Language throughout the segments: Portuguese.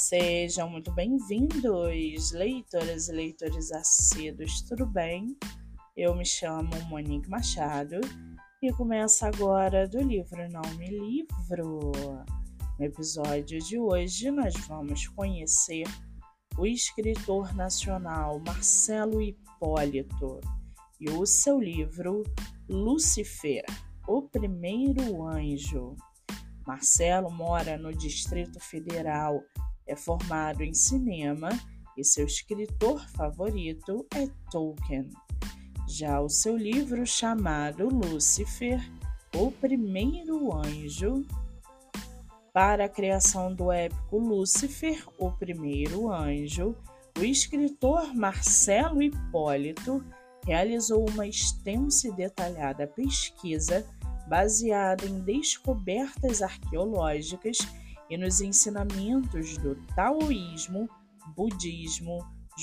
Sejam muito bem-vindos, leitoras e leitores assíduos, tudo bem? Eu me chamo Monique Machado e começo agora do livro Não Me Livro. No episódio de hoje, nós vamos conhecer o escritor nacional Marcelo Hipólito e o seu livro Lúcifer, o Primeiro Anjo. Marcelo mora no Distrito Federal, é formado em cinema e seu escritor favorito é Tolkien. Já o seu livro chamado Lúcifer, o Primeiro Anjo, para a criação do épico Lúcifer, o Primeiro Anjo, o escritor Marcelo Hipólito realizou uma extensa e detalhada pesquisa baseada em descobertas arqueológicas e nos ensinamentos do taoísmo, budismo,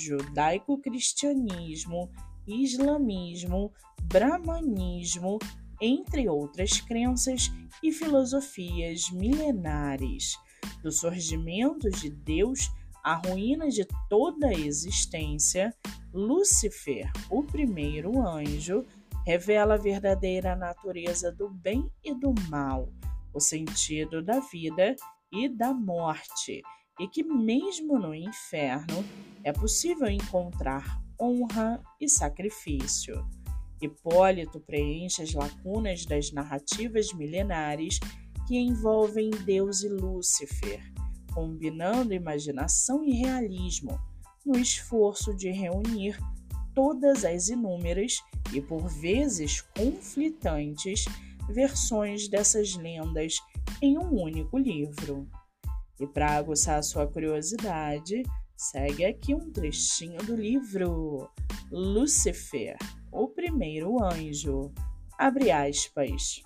judaico-cristianismo, islamismo, brahmanismo, entre outras crenças e filosofias milenares, do surgimento de Deus à ruína de toda a existência. Lúcifer, o primeiro anjo, revela a verdadeira natureza do bem e do mal, o sentido da vida e da morte, e que mesmo no inferno é possível encontrar honra e sacrifício. Hipólito preenche as lacunas das narrativas milenares que envolvem Deus e Lúcifer, combinando imaginação e realismo, no esforço de reunir todas as inúmeras e por vezes conflitantes versões dessas lendas em um único livro. E para aguçar a sua curiosidade, segue aqui um trechinho do livro Lúcifer, o Primeiro Anjo. Abre aspas.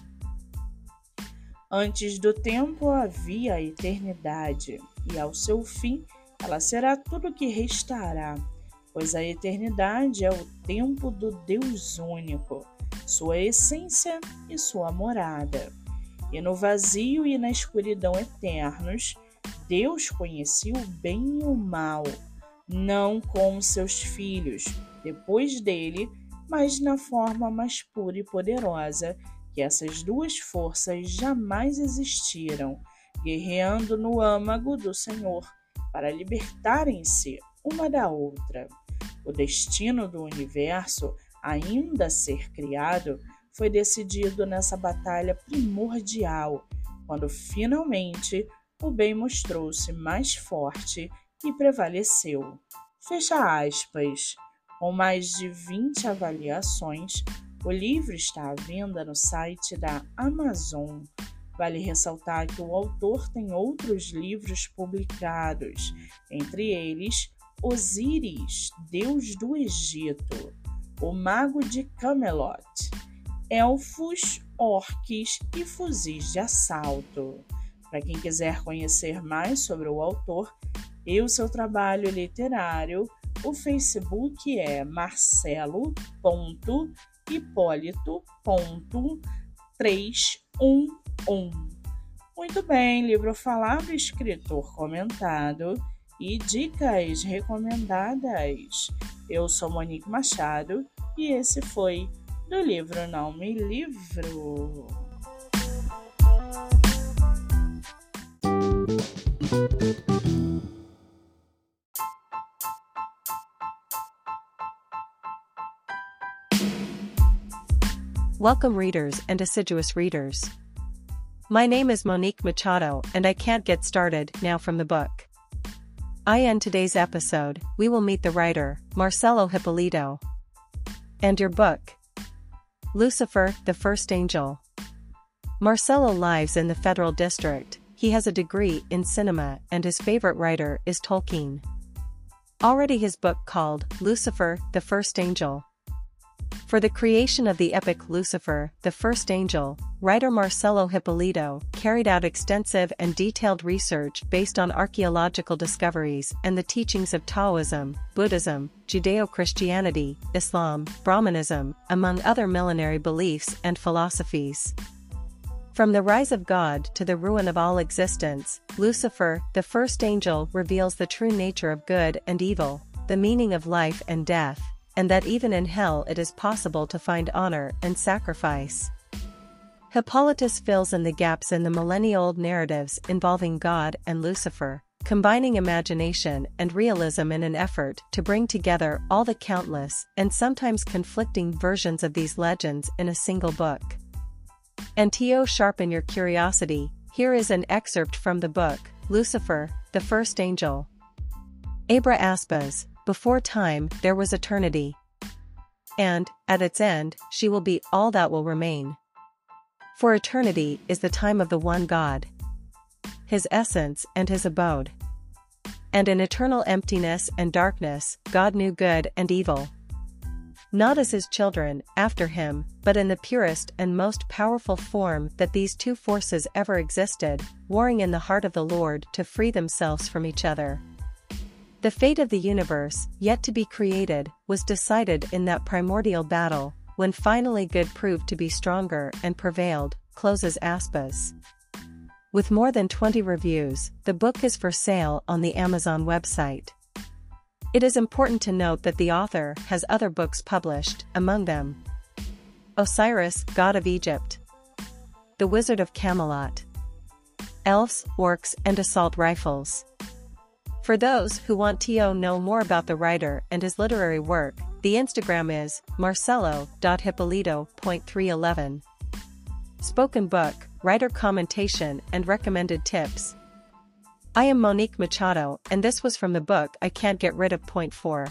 Antes do tempo havia a eternidade, e ao seu fim ela será tudo que restará, pois a eternidade é o tempo do Deus único, sua essência e sua morada. E no vazio e na escuridão eternos, Deus conhecia o bem e o mal, não como seus filhos, depois dele, mas na forma mais pura e poderosa que essas duas forças jamais existiram, guerreando no âmago do Senhor para libertarem-se uma da outra. O destino do universo, ainda a ser criado, foi decidido nessa batalha primordial, quando finalmente o bem mostrou-se mais forte e prevaleceu. Fecha aspas. Com mais de 20 avaliações, o livro está à venda no site da Amazon. Vale ressaltar que o autor tem outros livros publicados, entre eles Osíris, Deus do Egito, O Mago de Camelot, Elfos, Orques e Fuzis de Assalto. Para quem quiser conhecer mais sobre o autor e o seu trabalho literário, o Facebook é marcelo.hipólito.311. Muito bem, livro falado, escritor comentado e dicas recomendadas. Eu sou Monique Machado e esse foi do livro Não Me Livro. Welcome readers and assiduous readers. My name is Monique Machado and I can't get started now from the book. In today's episode, we will meet the writer, Marcelo Hipólito. And your book? Lucifer, the First Angel. Marcelo lives in the Federal District. He has a degree in cinema and his favorite writer is Tolkien. Already his book called Lucifer, the First Angel. For the creation of the epic Lucifer, the First Angel, writer Marcelo Hipólito carried out extensive and detailed research based on archaeological discoveries and the teachings of Taoism, Buddhism, Judeo-Christianity, Islam, Brahmanism, among other millenary beliefs and philosophies. From the rise of God to the ruin of all existence, Lucifer, the first angel, reveals the true nature of good and evil, the meaning of life and death, and that even in hell it is possible to find honor and sacrifice. Hippolytus fills in the gaps in the millennia-old narratives involving God and Lucifer, combining imagination and realism in an effort to bring together all the countless and sometimes conflicting versions of these legends in a single book. And to sharpen your curiosity, here is an excerpt from the book, Lucifer, the First Angel. Abra Aspas, before time there was eternity. And, at its end, she will be all that will remain. For eternity is the time of the one God, His essence and His abode. And in eternal emptiness and darkness, God knew good and evil. Not as His children, after Him, but in the purest and most powerful form that these two forces ever existed, warring in the heart of the Lord to free themselves from each other. The fate of the universe, yet to be created, was decided in that primordial battle, when finally good proved to be stronger and prevailed, closes Aspas. With more than 20 reviews, the book is for sale on the Amazon website. It is important to note that the author has other books published, among them Osiris, God of Egypt, The Wizard of Camelot, Elves, Orcs, and Assault Rifles. For those who want to know more about the writer and his literary work, the Instagram is marcelo.hippolito.311. Spoken book, writer commentation and recommended tips. I am Monique Machado, and this was from the book I Can't Get Rid of. Point 4.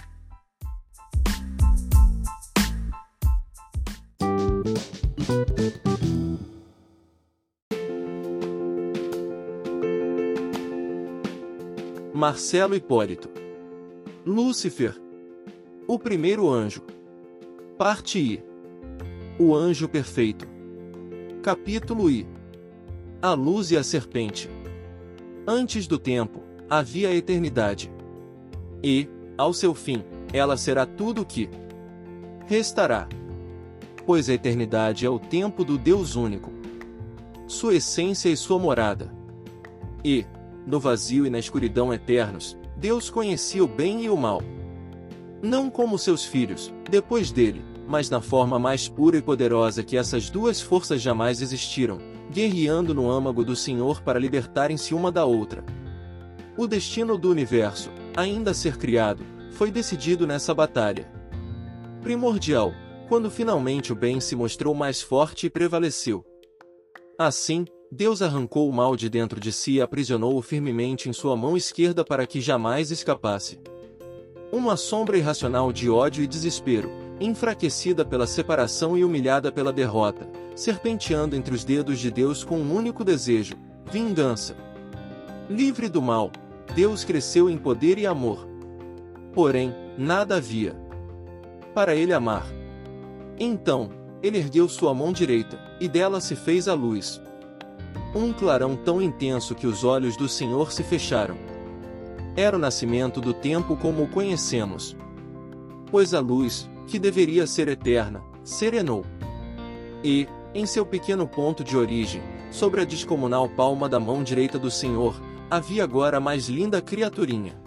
Marcelo Hipólito. Lúcifer. O primeiro anjo. Parte I. O anjo perfeito. Capítulo I. A luz e a serpente. Antes do tempo, havia a eternidade. E, ao seu fim, ela será tudo o que restará. Pois a eternidade é o tempo do Deus único, sua essência e sua morada. E, no vazio e na escuridão eternos, Deus conhecia o bem e o mal. Não como seus filhos, depois dele, mas na forma mais pura e poderosa que essas duas forças jamais existiram, guerreando no âmago do Senhor para libertarem-se uma da outra. O destino do universo, ainda a ser criado, foi decidido nessa batalha primordial, quando finalmente o bem se mostrou mais forte e prevaleceu. Assim, Deus arrancou o mal de dentro de si e aprisionou-o firmemente em sua mão esquerda para que jamais escapasse. Uma sombra irracional de ódio e desespero, enfraquecida pela separação e humilhada pela derrota, serpenteando entre os dedos de Deus com um único desejo: vingança. Livre do mal, Deus cresceu em poder e amor. Porém, nada havia para ele amar. Então, ele ergueu sua mão direita, e dela se fez a luz. Um clarão tão intenso que os olhos do Senhor se fecharam. Era o nascimento do tempo como o conhecemos. Pois a luz, que deveria ser eterna, serenou. E, em seu pequeno ponto de origem, sobre a descomunal palma da mão direita do Senhor, havia agora a mais linda criaturinha.